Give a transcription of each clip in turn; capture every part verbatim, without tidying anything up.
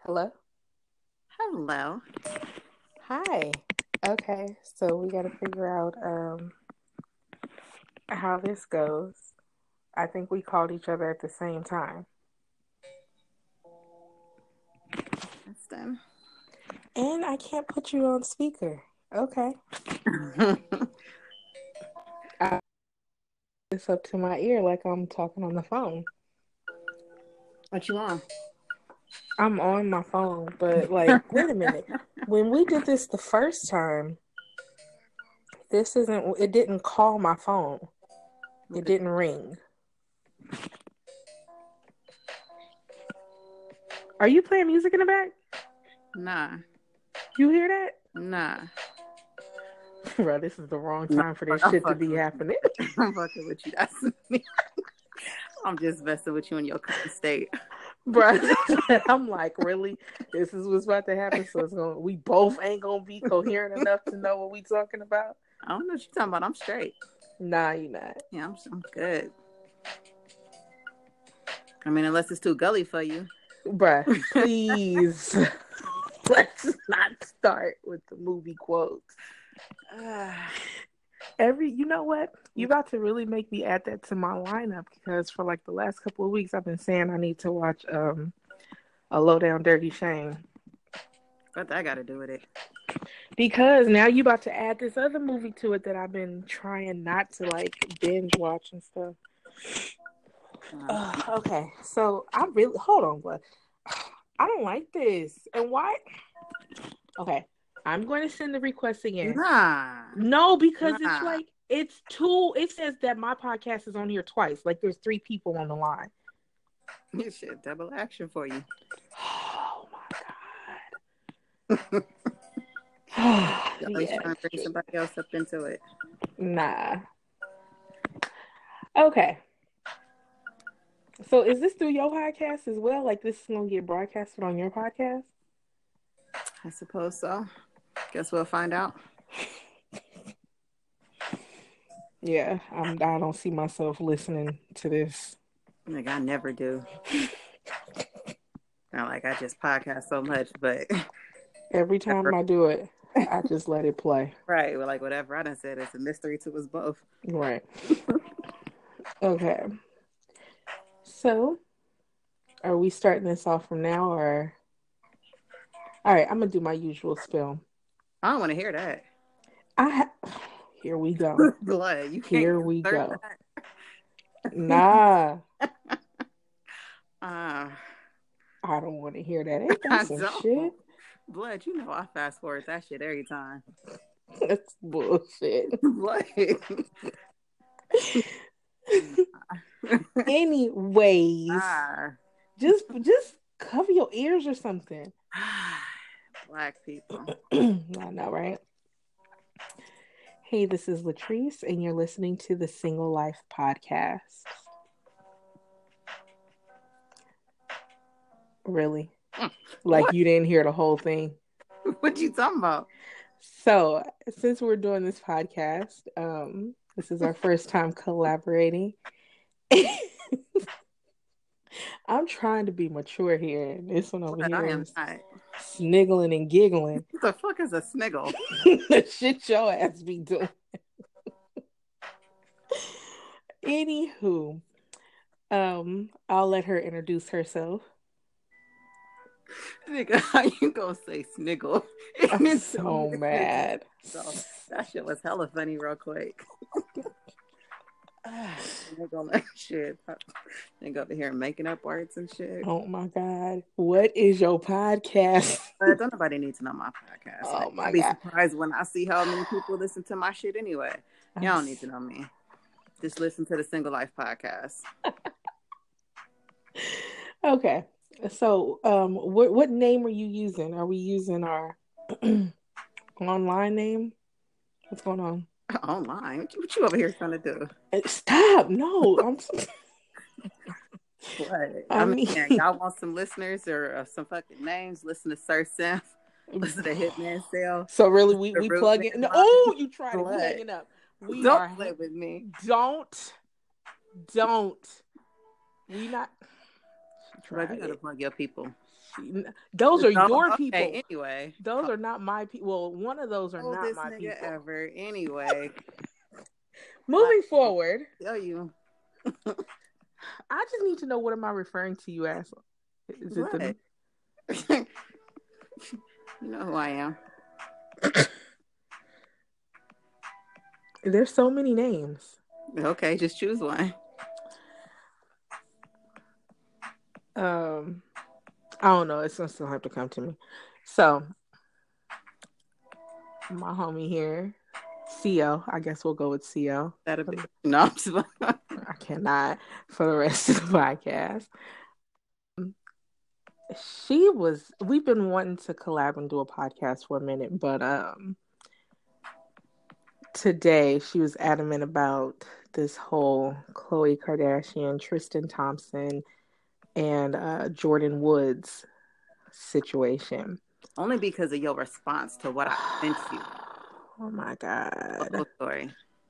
Hello? Hello. Hi. Okay, so we got to figure out um how this goes. I think we called each other at the same time. That's done. And I can't put you on speaker. Okay. I it's up to my ear like I'm talking on the phone. What you on? I'm on my phone, but like, wait a minute. When we did this the first time, this isn't, it didn't call my phone. It didn't ring. Are you playing music in the back? Nah. You hear that? Nah. Bro, this is the wrong No, time for this I'm shit to fucking be with happening. you. I'm fucking with you. That's me. I'm just messing with you in your current state. Bro, I'm like, really? This is what's about to happen. So it's gonna we both ain't gonna be coherent enough to know what we talking about. I don't know what you're talking about. I'm straight. Nah, you not. Yeah, I'm, I'm good. I mean, unless it's too gully for you. Bruh, please. Let's not start with the movie quotes. Every, you know what? You about to really make me add that to my lineup because for like the last couple of weeks, I've been saying I need to watch um a Low Down Dirty Shame. What that got to do with it? Because now you about to add this other movie to it that I've been trying not to like binge watch and stuff. Uh, okay, so I really hold on, but I don't like this. And why? Okay, I'm going to send the request again. Nah. No, because nah. it's like it's two. It says that my podcast is on here twice. Like there's three people on the line. This shit double action for you. Oh my god. You're always yeah, trying to bring true. somebody else up into it. Nah. Okay. So is this through your podcast as well? Like this is gonna get broadcasted on your podcast? I suppose so. Guess we'll find out. Yeah, I'm. I don't see myself listening to this. Like I never do. Not like I just podcast so much, but every time never. I do it, I just let it play. Right. Well, like whatever I done said, it's a mystery to us both. Right. Okay. So, are we starting this off from now, or? All right, I'm gonna do my usual spill. I don't want to hear that. I ha- here we go. Blood, you can't. Here we go. That. Nah. uh, I don't want to hear that. Ain't that some don't. shit? Blood, you know I fast forward that shit every time. That's bullshit. Blood. Anyways, ah. just just cover your ears or something. Black people. I know, right? Hey, this is Latrice, and you're listening to the Single Life Podcast. Really? Like what? You didn't hear the whole thing? What you talking about? So, since we're doing this podcast, um, this is our first time collaborating. I'm trying to be mature here, and this one over but here I am is not. sniggling and giggling. What the fuck is a sniggle? The shit your ass be doing. Anywho, um, I'll let her introduce herself. Nigga, how you gonna say sniggle? I'm so mad. So that shit was hella funny real quick. They're gonna shit. They go over here making up words and shit. Oh my god! What is your podcast? Uh, don't nobody need to know my podcast. Oh like, my I'll be god! surprised when I see how many people listen to my shit anyway. Y'all don't need to know me. Just listen to the Single Life Podcast. Okay, so um, what what name are you using? Are we using our online name? What's going on? Online? What you, what you over here trying to do? Stop! No, I'm. What? I, I mean, mean y'all want some listeners or uh, some fucking names? Listen to Sir Simp. Listen to Hitman Cell. So really, we we plug in. No, oh, you tried it. We hanging up. We don't are play with me. Don't, don't. We not. Bro, you gotta plug your people. She, those are Oh, your okay, people. anyway. Those are not my people. Well, one of those are Oh, not this my nigga people. ever. Anyway. Moving forward. Tell you. I just need to know, what am I referring to you as? Is what? it the... You know who I am. There's so many names. Okay, just choose one. Um, I don't know. It's gonna still have to come to me. So, my homie here, C O. I guess we'll go with C O. That'll be no. I'm just... I cannot for the rest of the podcast. She was. We've been wanting to collab and do a podcast for a minute, but um, today she was adamant about this whole Khloe Kardashian, Tristan Thompson, and uh, Jordyn Woods situation. Only because of your response to what I sent you. Oh my God. Oh, story.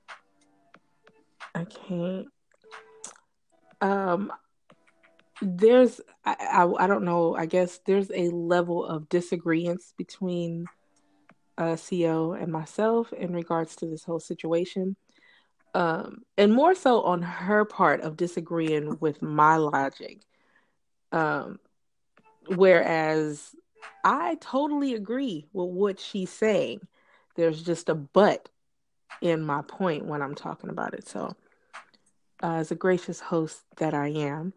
I can't. Um, there's, I, I, I don't know, I guess there's a level of disagreement between uh, C O and myself in regards to this whole situation. Um, and more so on her part of disagreeing with my logic. Um, whereas I totally agree with what she's saying. There's just a but in my point when I'm talking about it. So, uh, as a gracious host that I am,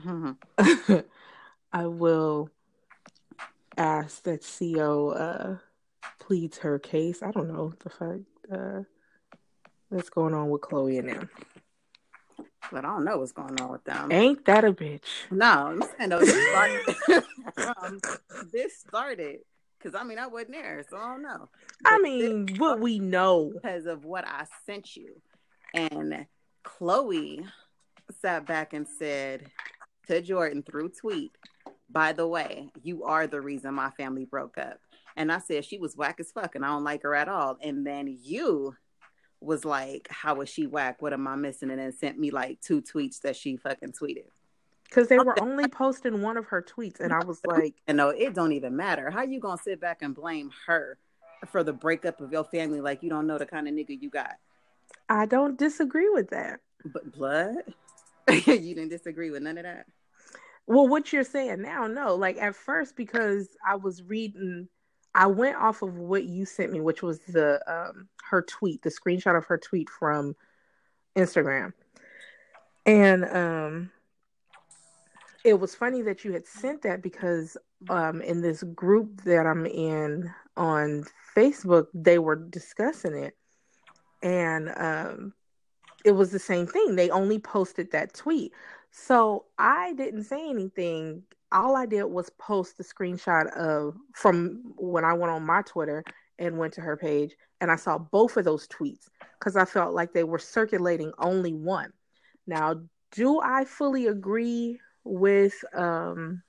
I will ask that C O uh, pleads her case. I don't know the fact uh, that's going on with Khloe and them. But I don't know what's going on with them. Ain't that a bitch? No, I'm saying though, this started. um, this started because I mean I wasn't there, so I don't know. But I mean, what we know because of what I sent you, and Khloe sat back and said to Jordyn through tweet, "By the way, you are the reason my family broke up." And I said she was whack as fuck, and I don't like her at all. And then you was like, how was she whack? What am I missing? And then sent me like two tweets that she fucking tweeted. Because they were only posting one of her tweets. And I was like... And no, it don't even matter. How you going to sit back and blame her for the breakup of your family like you don't know the kind of nigga you got? I don't disagree with that. But blood? You didn't disagree with none of that? Well, what you're saying now, no. Like at first, because I was reading... I went off of what you sent me, which was the um, her tweet, the screenshot of her tweet from Instagram. And um, it was funny that you had sent that because um, in this group that I'm in on Facebook, they were discussing it. And um, it was the same thing. They only posted that tweet. So I didn't say anything. All I did was post the screenshot of from when I went on my Twitter and went to her page, and I saw both of those tweets because I felt like they were circulating only one. Now, do I fully agree with um,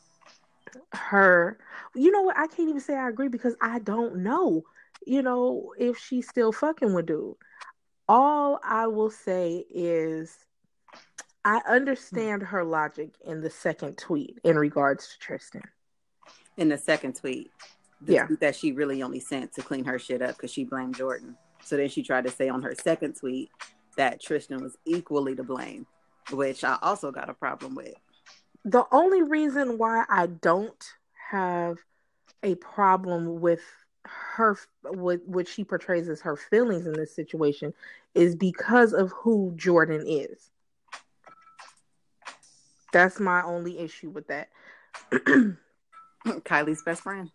her? You know what? I can't even say I agree because I don't know, you know, if she's still fucking with dude. All I will say is I understand her logic in the second tweet in regards to Tristan. In the second tweet, the yeah, tweet that she really only sent to clean her shit up because she blamed Jordyn. So then she tried to say on her second tweet that Tristan was equally to blame, which I also got a problem with. The only reason why I don't have a problem with her, with what she portrays as her feelings in this situation, is because of who Jordyn is. That's my only issue with that. Kylie's best friend.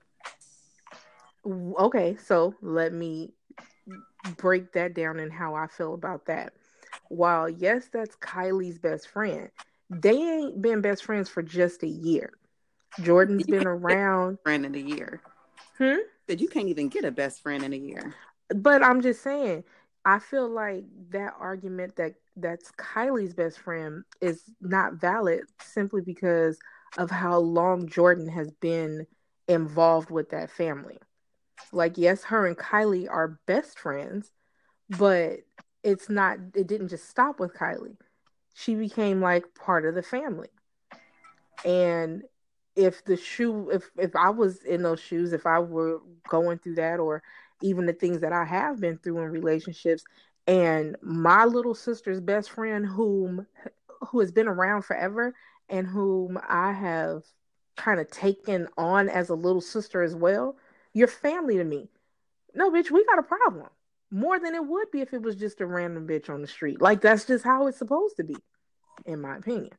Okay, so let me break that down and how I feel about that. While yes, that's Kylie's best friend, they ain't been best friends for just a year. Jordyn's been around. Friend in a year. Hmm? That you can't even get a best friend in a year. But I'm just saying, I feel like that argument that that's Kylie's best friend is not valid simply because of how long Jordyn has been involved with that family. Like, yes, her and Kylie are best friends, but it's not, it didn't just stop with Kylie. She became like part of the family. And if the shoe, if if I was in those shoes, if I were going through that, or even the things that I have been through in relationships, and my little sister's best friend, whom who has been around forever, and whom I have kind of taken on as a little sister as well, you're family to me. No, bitch, we got a problem. More than it would be if it was just a random bitch on the street. Like, that's just how it's supposed to be, in my opinion.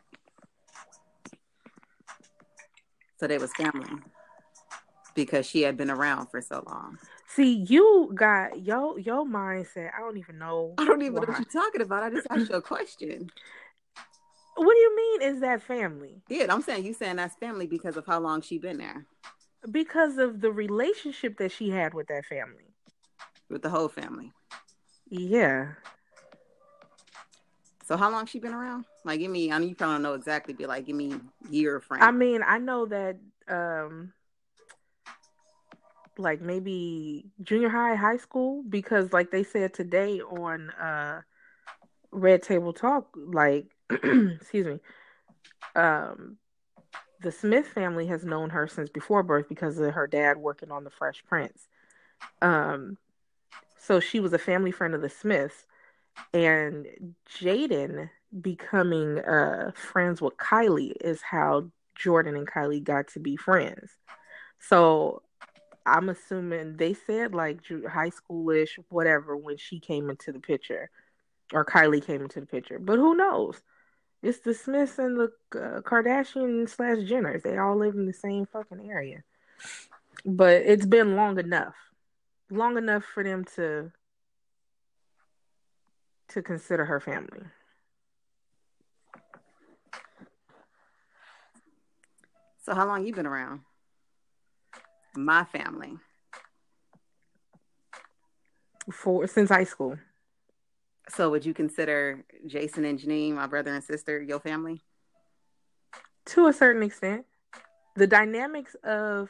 So they was family because she had been around for so long. See, you got your your mindset. I don't even know. I don't even why. know what you're talking about. I just asked you a question. What do you mean? Is that family? Yeah, I'm saying you saying that's family because of how long she been there. Because of the relationship that she had with that family. With the whole family. Yeah. So how long she been around? Like, give me, I mean, you probably don't know exactly, but like, give me year frame. I mean, I know that, um, like maybe junior high, high school, because like they said today on uh, Red Table Talk, like, excuse me, um, the Smith family has known her since before birth because of her dad working on the Fresh Prince. Um, so she was a family friend of the Smiths, and Jaden becoming uh, friends with Kylie is how Jordan and Kylie got to be friends. So I'm assuming they said like high schoolish, whatever, when she came into the picture, or Kylie came into the picture. But who knows? It's the Smiths and the uh, Kardashian slash Jenners. They all live in the same fucking area. But it's been long enough, long enough for them to to consider her family. So how long you been around? My family. For since high school. So would you consider Jason and Janine, my brother and sister, your family? To a certain extent. The dynamics of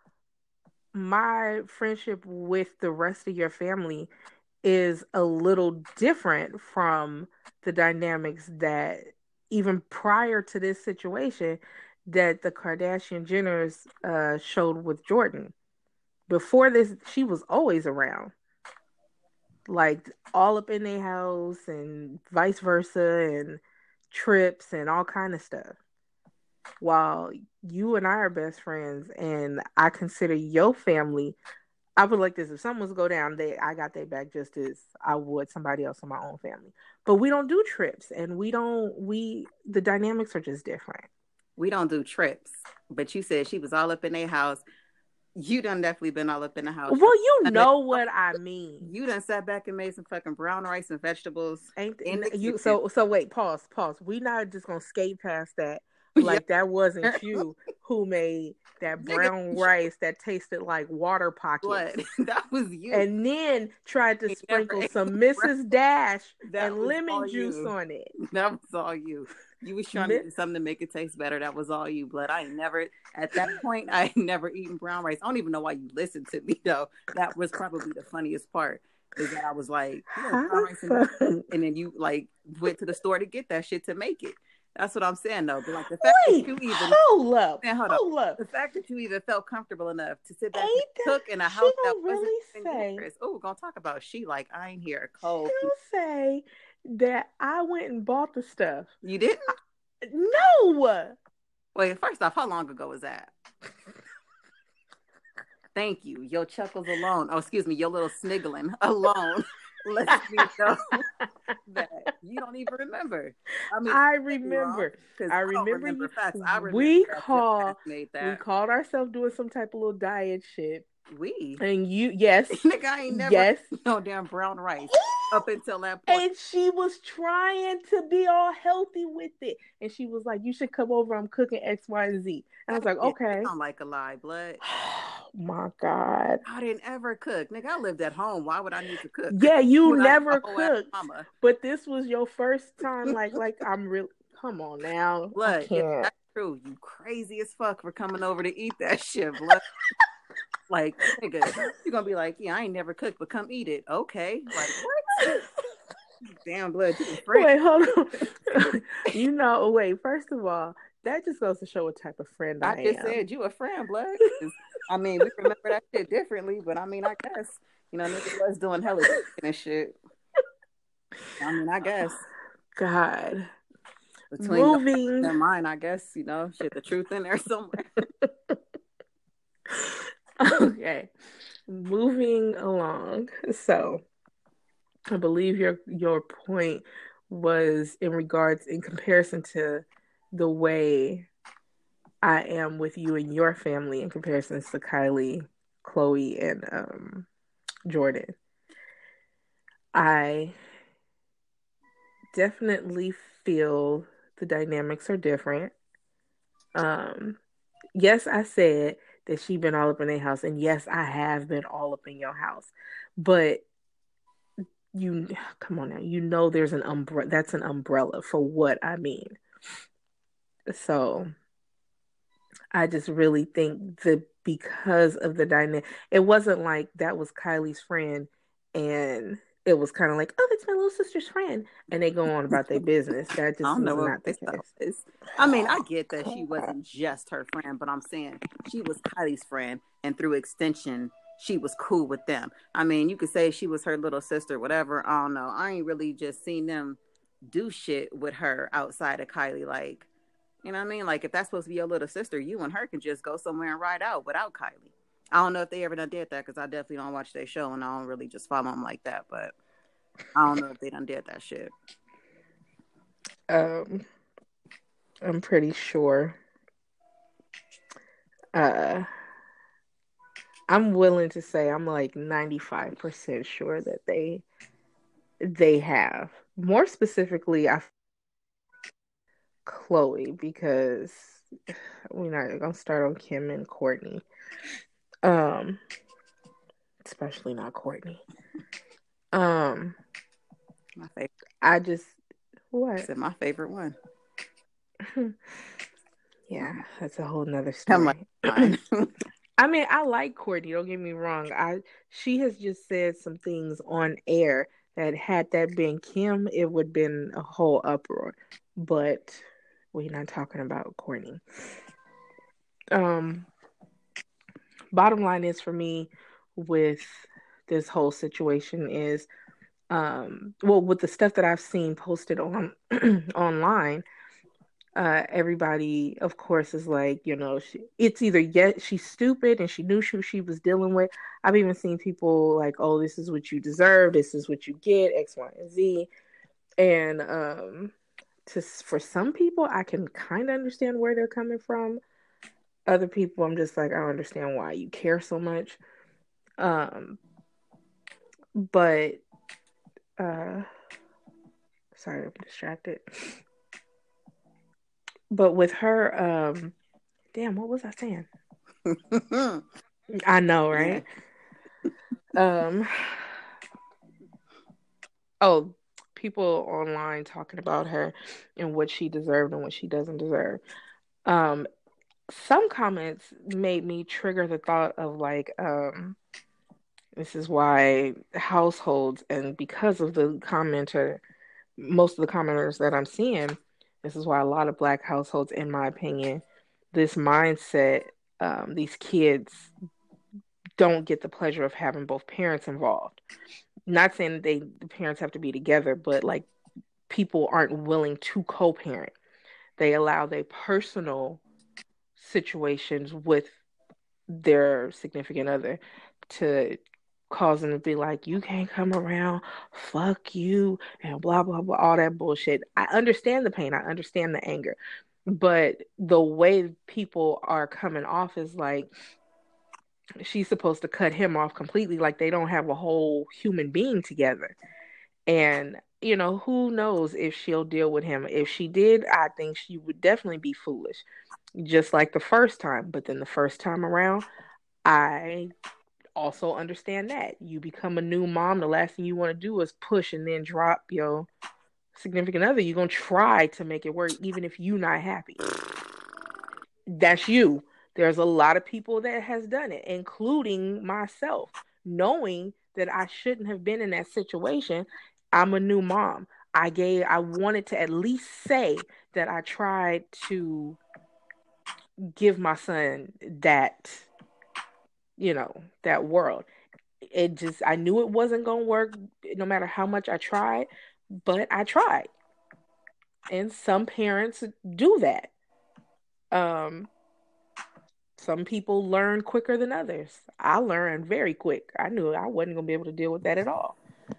my friendship with the rest of your family is a little different from the dynamics that even prior to this situation that the Kardashian Jenners uh, showed with Jordan. Before this, she was always around. Like, all up in their house and vice versa, and trips and all kind of stuff. While you and I are best friends, and I consider your family, I would like this. If someone's go down, they I got their back just as I would somebody else in my own family. But we don't do trips, and we don't we the dynamics are just different. We don't do trips. But you said she was all up in their house. You done definitely been all up in the house. Well, you know what I mean. You done sat back and made some fucking brown rice and vegetables. Ain't th- you? So so wait, pause, pause. We not just gonna skate past that. Like, that wasn't you who made that brown rice that tasted like water pockets. What? That was you. And then tried to sprinkle some Missus Dash and lemon juice you. on it. That was all you. You was trying to do something to make it taste better. That was all you, blood. I ain't never, at that point, I ain't never eaten brown rice. I don't even know why you listened to me, though. That was probably the funniest part. Is that I was like, you know, brown rice and, and then you, like, went to the store to get that shit to make it. That's what I'm saying, though. But like the fact Wait, that you even hold up, man, hold, hold up. The fact that you even felt comfortable enough to sit back ain't and cook in a house that really wasn't dangerous. Oh, we're gonna talk about she like I ain't here cold. She'll say that I went and bought the stuff. You didn't? I, no. Wait, first off, how long ago was that? Thank you. Your chuckles alone. Oh, excuse me, your little sniggling alone. Let me know that you don't even remember. I mean, I remember. I remember. I remember facts. I remember we call we called ourselves doing some type of little diet shit. We and you yes, nigga, I ain't never yes no damn brown rice up until that point. And she was trying to be all healthy with it, and she was like, "You should come over. I'm cooking X, Y, and Z." And I was like, "Okay." I don't like a lie, blood. My God. I didn't ever cook. Nigga, I lived at home. Why would I need to cook? Yeah, you would never cooked. But this was your first time, like, like I'm really, come on now. Blood, yeah, that's true. You crazy as fuck for coming over to eat that shit, blood. Like, nigga, you're going to be like, yeah, I ain't never cooked, but come eat it. Okay. Like, what? Damn, blood. You wait, hold on. You know, wait, first of all, that just goes to show what type of friend I I just am. said you a friend, blood. 'Cause, I mean, we remember that shit differently, but I mean, I guess you know niggas was doing hella and shit. I mean, I guess God. between your Moving. and mine, I guess you know shit. The truth in there somewhere. Okay. Moving along. So, I believe your your point was in regards in comparison to the way I am with you and your family in comparison to Kylie, Chloe, and um, Jordan. I definitely feel the dynamics are different. Um, yes, I said that she been all up in their house, and yes, I have been all up in your house. But you, come on now, you know there's an umbrella. That's an umbrella for what I mean. So I just really think that because of the dynamic, it wasn't like that was Kylie's friend and it was kind of like, oh, that's my little sister's friend. And they go on about their business. That I just don't was know what not the it's though. case. It's, I mean, I get that she wasn't just her friend, but I'm saying she was Kylie's friend, and through extension, she was cool with them. I mean, you could say she was her little sister, whatever. I don't know. I ain't really just seen them do shit with her outside of Kylie. Like, you know what I mean? Like, if that's supposed to be your little sister, you and her can just go somewhere and ride out without Kylie. I don't know if they ever done did that because I definitely don't watch their show and I don't really just follow them like that. But I don't know if they done did that shit. Um, I'm pretty sure. Uh, I'm willing to say I'm like ninety-five percent sure that they they have. More specifically, I Chloe because we're not gonna start on Kim and Courtney. Um, especially not Courtney. Um, My favorite. I just I what? said my favorite one. Yeah, that's a whole nother I'm like, story. fine. I mean, I like Courtney. Don't get me wrong. I she has just said some things on air that had that been Kim, it would have been a whole uproar. But we're not talking about Courtney. Um, bottom line is for me with this whole situation is, um, well, with the stuff that I've seen posted on online. Uh, everybody, of course, is like, you know, she, it's either yet she's stupid and she knew who she was dealing with. I've even seen people like, oh, this is what you deserve, this is what you get, X, Y, and Z. And um, to for some people, I can kind of understand where they're coming from. Other people, I'm just like, I don't understand why you care so much. Um, but uh, sorry, I'm distracted. But with her, um, damn, what was I saying? I know, right? Yeah. Um, oh, people online talking about her and what she deserved and what she doesn't deserve. Um, some comments made me trigger the thought of like, um, this is why households, and because of the commenter, most of the commenters that I'm seeing, this is why a lot of Black households, in my opinion, this mindset, um, these kids don't get the pleasure of having both parents involved. Not saying that they the parents have to be together, but like people aren't willing to co-parent. They allow their personal situations with their significant other to cause them to be like, you can't come around, fuck you, and blah blah blah, all that bullshit. I understand the pain, I understand the anger, but the way people are coming off is like she's supposed to cut him off completely, like they don't have a whole human being together. And you know, who knows if she'll deal with him. If she did, I think she would definitely be foolish, just like the first time. But then the first time around, I also understand that you become a new mom, the last thing you want to do is push and then drop your significant other. You're gonna try to make it work even if you're not happy. That's you. There's a lot of people that has done it, including myself, knowing that I shouldn't have been in that situation. I'm a new mom. I gave I wanted to at least say that I tried to give my son that, you know, that world. It just, I knew it wasn't going to work no matter how much I tried, but I tried. And some parents do that. Um, some people learn quicker than others. I learned very quick. I knew I wasn't going to be able to deal with that at all.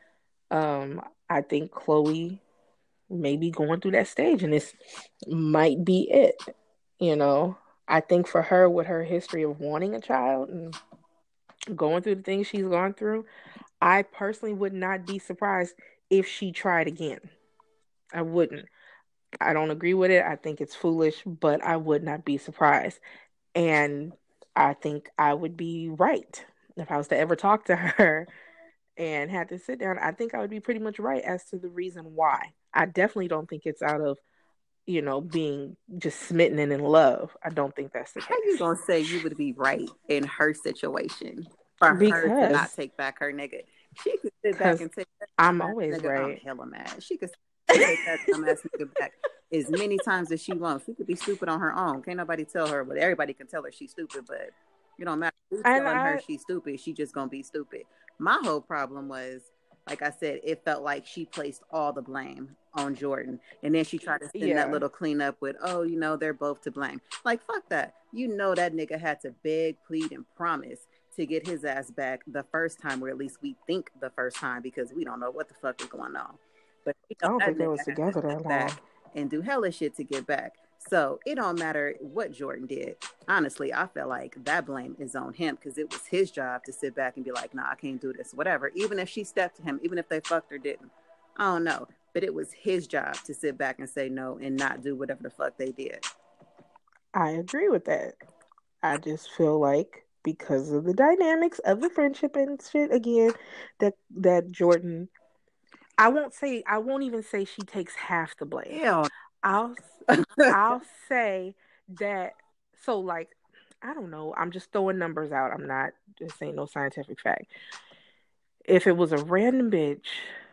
Um, I think Chloe may be going through that stage, and this might be it. You know, I think for her, with her history of wanting a child and going through the things she's gone through, I personally would not be surprised if she tried again. I wouldn't. I don't agree with it. I think it's foolish, but I would not be surprised. And I think I would be right. If I was to ever talk to her and had to sit down, I think I would be pretty much right as to the reason why. I definitely don't think it's out of, you know, being just smitten and in love. I don't think that's the How case. you gonna say you would be right in her situation for her to not Because take back her nigga? She could sit back because and take that I'm dumbass always nigga. I'm right. hella mad. She could take that dumbass nigga back as many times as she wants. She could be stupid on her own. Can't nobody tell her, but everybody can tell her she's stupid. But you don't matter who's And telling her I, she's stupid. She just gonna be stupid. My whole problem was, like I said, it felt like she placed all the blame on Jordan. And then she tried to send that yeah. little cleanup with, oh, you know, they're both to blame. Like, fuck that. You know that nigga had to beg, plead, and promise to get his ass back the first time, or at least we think the first time, because we don't know what the fuck is going on. But you I know don't that think they nigga was had together to that sit long. back and do hella shit to get back. So it don't matter what Jordan did. Honestly, I feel like that blame is on him, because it was his job to sit back and be like, nah, I can't do this, whatever. Even if she stepped to him, even if they fucked or didn't, I don't know. But it was his job to sit back and say no and not do whatever the fuck they did. I agree with that. I just feel like because of the dynamics of the friendship and shit again, that that Jordan, I won't say, I won't even say she takes half the blame. Hell. I'll I'll say that, so like, I don't know, I'm just throwing numbers out. I'm not, this ain't no scientific fact. If it was a random bitch,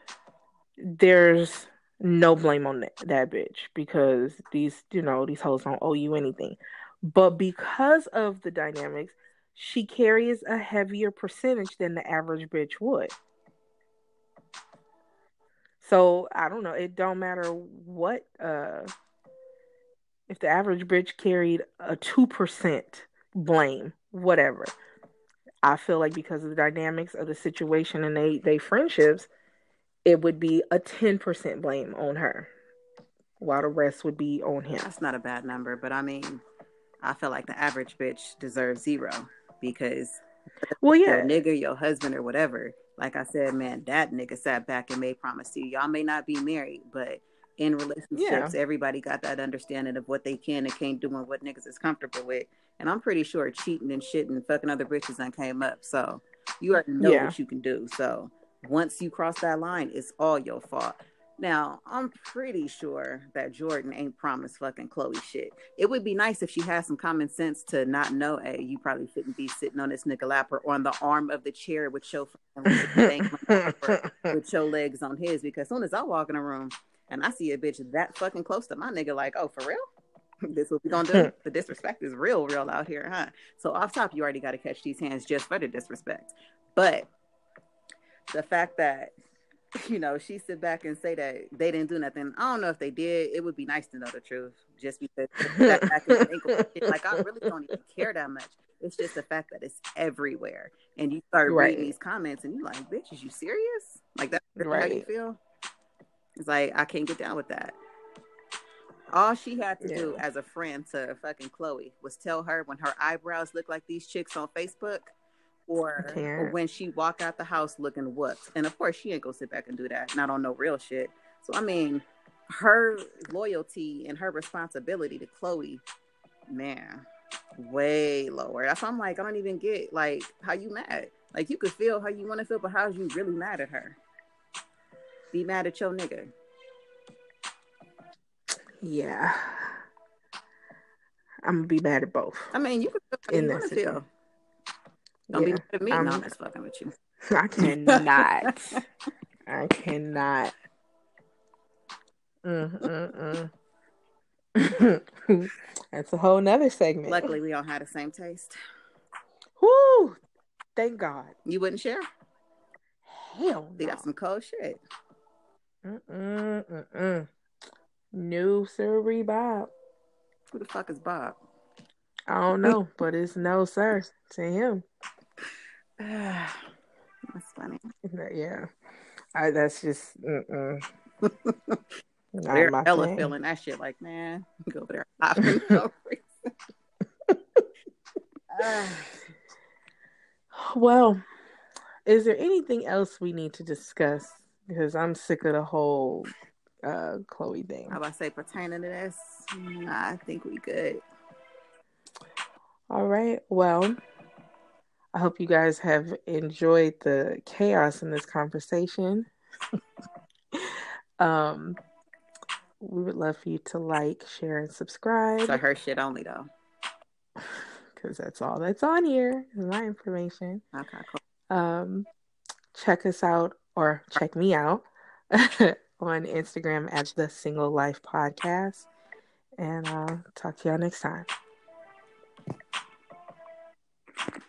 there's no blame on that, that bitch, because these, you know, these hoes don't owe you anything. But because of the dynamics, she carries a heavier percentage than the average bitch would. So I don't know. It don't matter what. Uh, if the average bitch carried a two percent blame, whatever. I feel like because of the dynamics of the situation and they they friendships, it would be a ten percent blame on her, while the rest would be on him. That's not a bad number, but I mean, I feel like the average bitch deserves zero, because Well, your yeah, nigga, your husband, or whatever, like I said, man, that nigga sat back and made promise to you. Y'all may not be married, but in yeah, relationships, everybody got that understanding of what they can and can't do and what niggas is comfortable with. And I'm pretty sure cheating and shit and fucking other bitches done came up. So you already know yeah. what you can do. So once you cross that line, it's all your fault. Now, I'm pretty sure that Jordan ain't promised fucking Chloe shit. It would be nice if she had some common sense to not know, hey, you probably shouldn't be sitting on this nigga lap or on the arm of the chair with your legs dangling over, with your legs on his. Because as soon as I walk in a room and I see a bitch that fucking close to my nigga, like, oh, for real? This what we gonna do? The disrespect is real, real out here, huh? So off top, you already got to catch these hands just for the disrespect. But the fact that, you know, she sit back and say that they didn't do nothing. I don't know if they did. It would be nice to know the truth, just because that back and think of shit. Like, I really don't even care that much. It's just the fact that it's everywhere, and you start Right. reading these comments, and you're like, "Bitch, is you serious? Like, that's really Right. how you feel?" It's like, I can't get down with that. All she had to Yeah. do as a friend to fucking Chloe was tell her when her eyebrows look like these chicks on Facebook, or, or when she walk out the house looking whooped. And of course, she ain't gonna sit back and do that. Not on no real shit. So I mean, her loyalty and her responsibility to Chloe, man, way lower. That's why I'm like, I don't even get like how you mad. Like, you could feel how you want to feel, but how's you really mad at her? Be mad at your nigga. Yeah. I'm gonna be mad at both. I mean, you can feel how you want to feel. Don't yeah. be mad at me. I'm, No, I'm just fucking with you. I cannot. I cannot. Mm, mm, mm. That's a whole nother segment. Luckily, we all had the same taste. Woo! Thank God. You wouldn't share? Hell no. They got some cold shit. Mm-mm, mm-mm. No, sir, Bob. Who the fuck is Bob? I don't know, but it's no, sir, to him. That's funny. Yeah. I, that's just, mm-mm. They're hella feeling that shit like, man, go over there laughing for no reason. Well, is there anything else we need to discuss? Because I'm sick of the whole uh, Chloe thing. How about I say pertaining to this? Nah, I think we good. All right. Well, I hope you guys have enjoyed the chaos in this conversation. um, we would love for you to like, share, and subscribe. So her shit only though. Because that's all that's on here is my information. Okay, cool. Um, check us out or check me out on Instagram at the Single Life Podcast. And I'll talk to y'all next time.